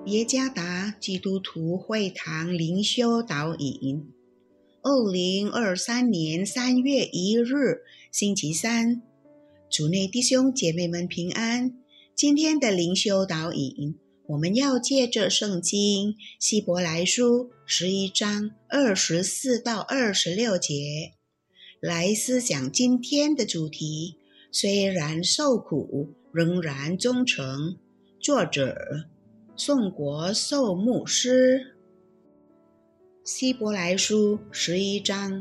耶加达基督徒会堂灵修导引，2023年3月1日，星期三，主内弟兄姐妹们平安。今天的灵修导引，我们要借着圣经希伯来书11章24到26节来思想今天的主题，虽然受苦，仍然忠诚。作者宋国寿牧师。希伯来书11章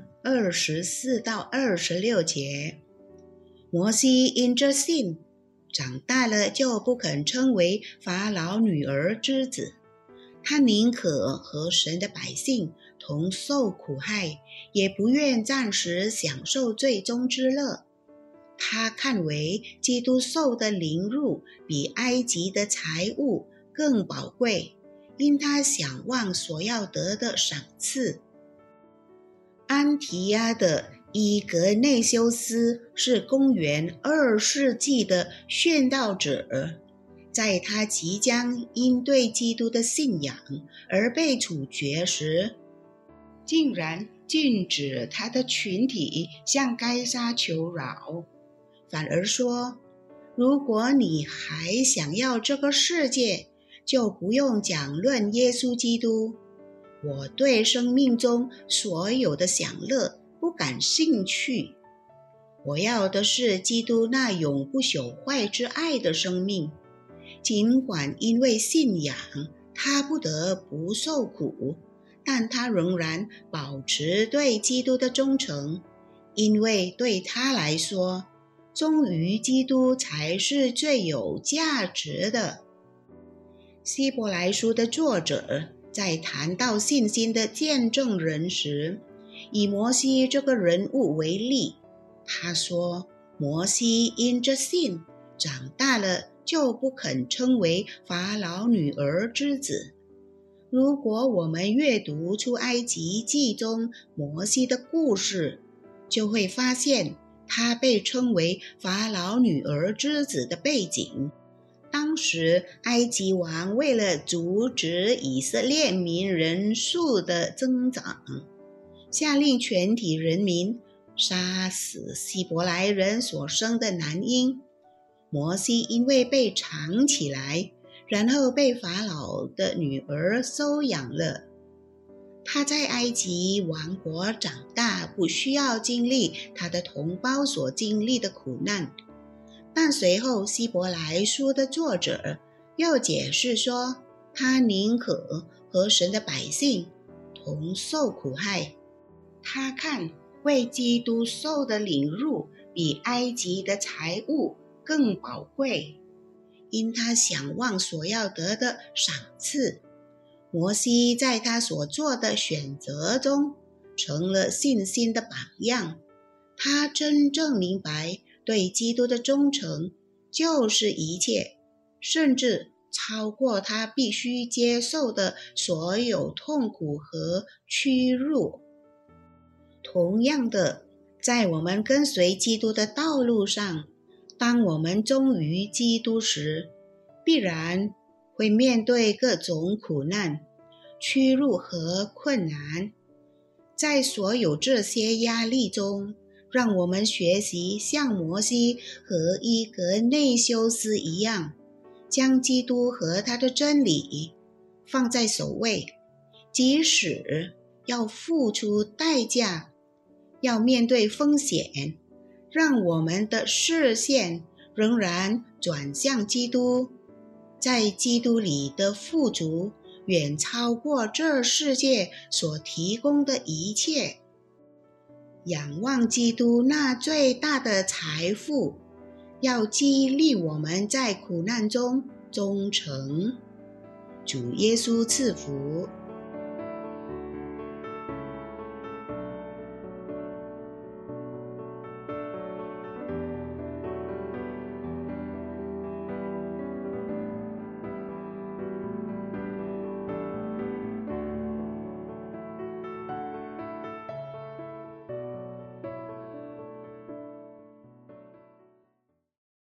24到26节，摩西因着信长大了，就不肯称为法老女儿之子，他宁可和神的百姓同受苦害，也不愿暂时享受罪中之乐。他看为基督受的凌辱比埃及的财物更宝贵，因他想望所要得的赏赐。安提亚的伊格内修斯是公元2世纪的宣道者，在他即将因对基督的信仰而被处决时，竟然禁止他的群体向该撒求饶，反而说，如果你还想要这个世界，就不用讲论耶稣基督。我对生命中所有的享乐不感兴趣，我要的是基督那永不朽坏之爱的生命。尽管因为信仰他不得不受苦，但他仍然保持对基督的忠诚，因为对他来说，忠于基督才是最有价值的。希伯来书的作者在谈到信心的见证人时，以摩西这个人物为例。他说，摩西因着信长大了，就不肯称为法老女儿之子。如果我们阅读出埃及记中摩西的故事，就会发现他被称为法老女儿之子的背景。当时埃及王为了阻止以色列民人数的增长，下令全体人民杀死希伯来人所生的男婴。摩西因为被藏起来，然后被法老的女儿收养了。他在埃及王国长大，不需要经历他的同胞所经历的苦难。但随后希伯来书的作者又解释说，他宁可和神的百姓同受苦害。他看为基督受的凌辱比埃及的财物更宝贵，因他想望所要得的赏赐。摩西在他所做的选择中成了信心的榜样。他真正明白对基督的忠诚就是一切，甚至超过他必须接受的所有痛苦和屈辱。同样的，在我们跟随基督的道路上，当我们忠于基督时，必然会面对各种苦难、屈辱和困难。在所有这些压力中，让我们学习像摩西和伊格内修斯一样，将基督和他的真理放在首位，即使要付出代价，要面对风险，让我们的视线仍然转向基督。在基督里的富足远超过这世界所提供的一切。仰望基督那最大的财富，要激励我们在苦难中忠诚。主耶稣赐福。